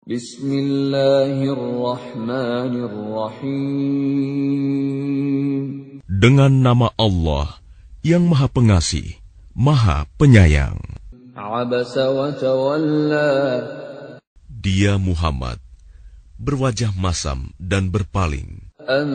Bismillahirrahmanirrahim. Dengan nama Allah yang Maha Pengasih, Maha Penyayang. Abasa wa tawalla. Dia Muhammad berwajah masam dan berpaling. An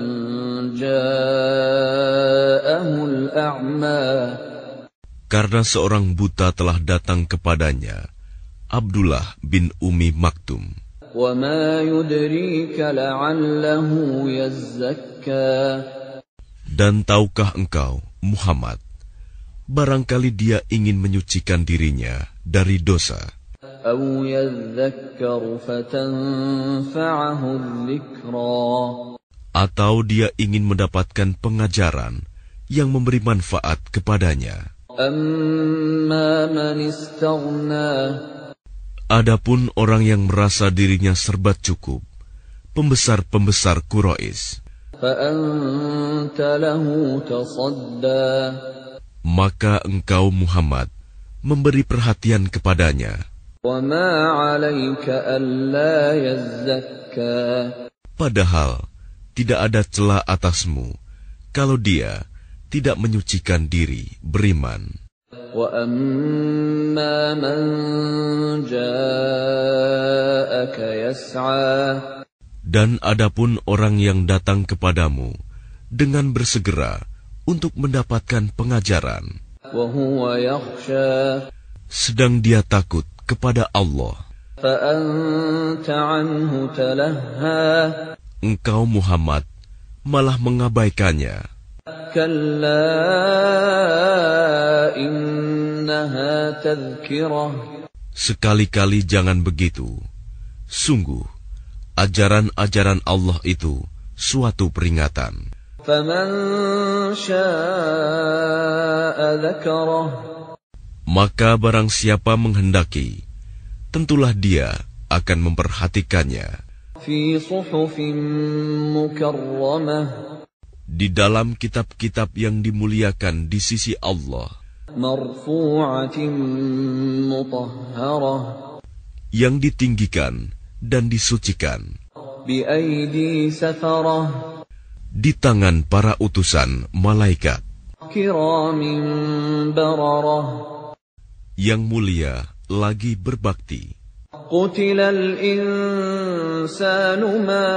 ja'ahul a'ma. Karena seorang buta telah datang kepadanya, Abdullah bin Ummi Maktum. Wa ma yudrika la'allahu yazzakka. Dan tahukah engkau, Muhammad, barangkali dia ingin menyucikan dirinya dari dosa. Aw yadhakkaru fatanfa'ahu dzikra. Atau dia ingin mendapatkan pengajaran yang memberi manfaat kepadanya. Amma man istaghna. Adapun orang yang merasa dirinya serba cukup, pembesar-pembesar Quraisy, Fa'anta lahu tasadda. maka engkau Muhammad memberi perhatian kepadanya. Wa ma 'alaika alla yazzakka. Padahal tidak ada celah atasmu kalau dia tidak menyucikan diri beriman. Wa amma man ja'aka yas'a. Dan adapun orang yang datang kepadamu dengan bersegera untuk mendapatkan pengajaran, Wa huwa yakhsha. sedang dia takut kepada Allah, Fa'anta 'anhu talahha. engkau Muhammad malah mengabaikannya. Kalla innaha tadhkirah. Sekali-kali jangan begitu. Sungguh, ajaran-ajaran Allah itu suatu peringatan. Faman syaa'a dzakarah. Maka barang siapa menghendaki, tentulah dia akan memperhatikannya Fi suhufin mukarramah. di dalam kitab-kitab yang dimuliakan di sisi Allah, Marfu'atin mutahharah. yang ditinggikan dan disucikan Bi aidi safarah. di tangan para utusan malaikat Kiramin bararah. yang mulia lagi berbakti. Qutilal insanu ma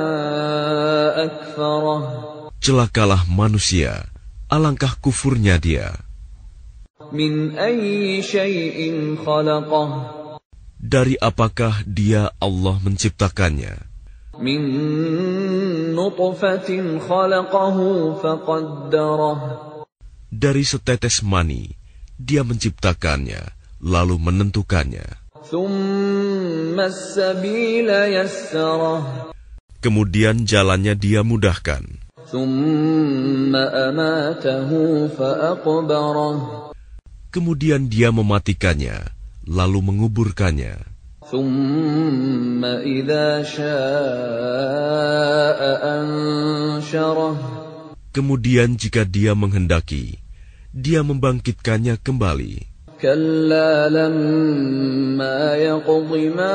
akfarah. Celakalah manusia, alangkah kufurnya dia. Min ayyi syai'in khalaqah. Dari apakah dia Allah menciptakannya? Min nutfatin khalaqahu faqaddarah. Dari setetes mani, dia menciptakannya, lalu menentukannya. Thumma as-sabila yassarah. Kemudian jalannya dia mudahkan. Thumma amatahu faqbarah. Kemudian dia mematikannya, lalu menguburkannya. Thumma idza syaa'a ansyarah. Kemudian jika dia menghendaki, dia membangkitkannya kembali. Kalla lamma yaqdi ma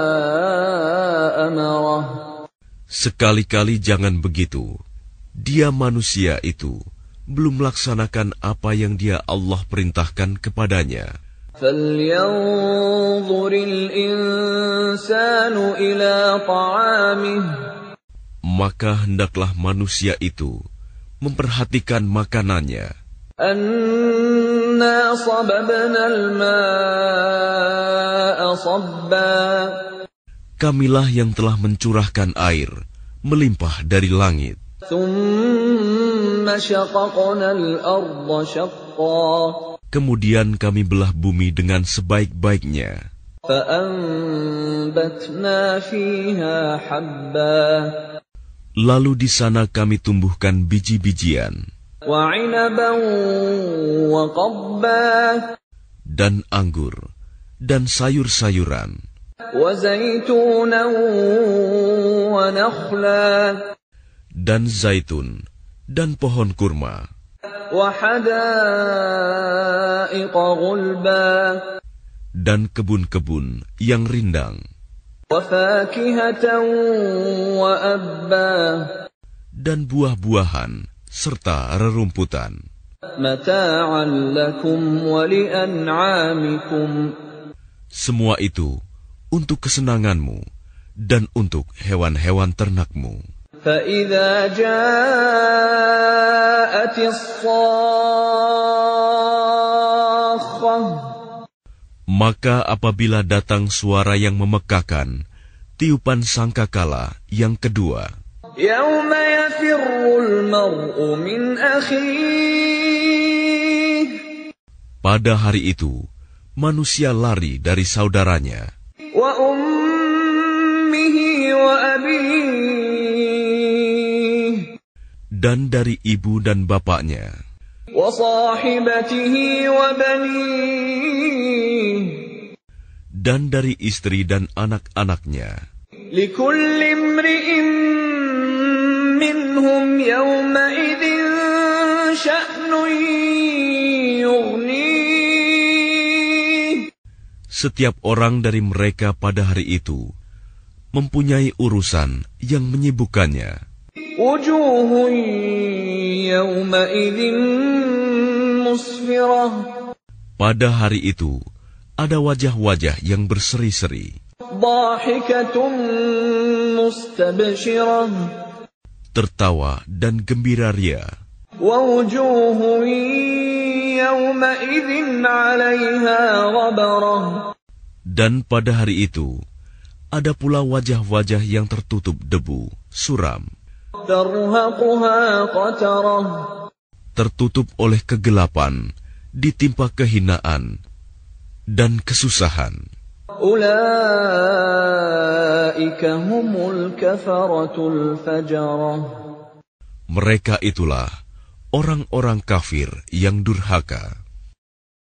amarah. Sekali-kali jangan begitu. Dia manusia itu belum melaksanakan apa yang dia Allah perintahkan kepadanya. Falyanzuril insanu ila ta'amih. Maka hendaklah manusia itu memperhatikan makanannya. Anna sababnal ma'a sabba. Kamilah yang telah mencurahkan air melimpah dari langit. Thumma syaqaqnal arda syaqqa. Kemudian kami belah bumi dengan sebaik-baiknya. Fa'anbatna fiha habba. Lalu di sana kami tumbuhkan biji-bijian Wa 'inaban wa qabba. dan anggur dan sayur-sayuran Wa zaitunan wa nakhla. dan zaitun dan pohon kurma Wa hadaiqa ghulba. dan kebun-kebun yang rindang. وَفَاكِهَةً وَأَبًّا dan buah-buahan serta rerumputan. مَتَاعًا لَكُمْ وَلِأَنْعَامِكُمْ Semua itu untuk kesenanganmu dan untuk hewan-hewan ternakmu. فَإِذَا جَاءَتِ الصَّاخَّةُ Maka apabila datang suara yang memekakan, tiupan sangkakala yang kedua, يَوْمَ يَفِرُّ الْمَرْءُ مِنْ أَخِيهِ pada hari itu manusia lari dari saudaranya, وَأُمِّهِ وَأَبِيهِ dan dari ibu dan bapaknya, وَصَاحِبَتِهِ وَبَنِيهِ dan dari istri dan anak-anaknya. لِكُلِّ امْرِئٍ مِّنْهُمْ يَوْمَئِذٍ شَأْنٌ يُغْنِيهِ Setiap orang dari mereka pada hari itu mempunyai urusan yang menyibukkannya. وُجُوهٌ يَوْمَئِذٍ مُّسْفِرَةٌ Pada hari itu ada wajah-wajah yang berseri-seri, ضَاحِكَةٌ مُّسْتَبْشِرَةٌ tertawa dan gembira ria. وَوُجُوهٌ يَوْمَئِذٍ عَلَيْهَا غَبَرَةٌ Dan pada hari itu ada pula wajah-wajah yang tertutup debu, suram, تَرْهَقُهَا قَتَرَةٌ tertutup oleh kegelapan, ditimpa kehinaan dan kesusahan. أُولَئِكَ هُمُ الْكَفَرَةُ الْفَجَرَةُ Mereka itulah orang-orang kafir yang durhaka.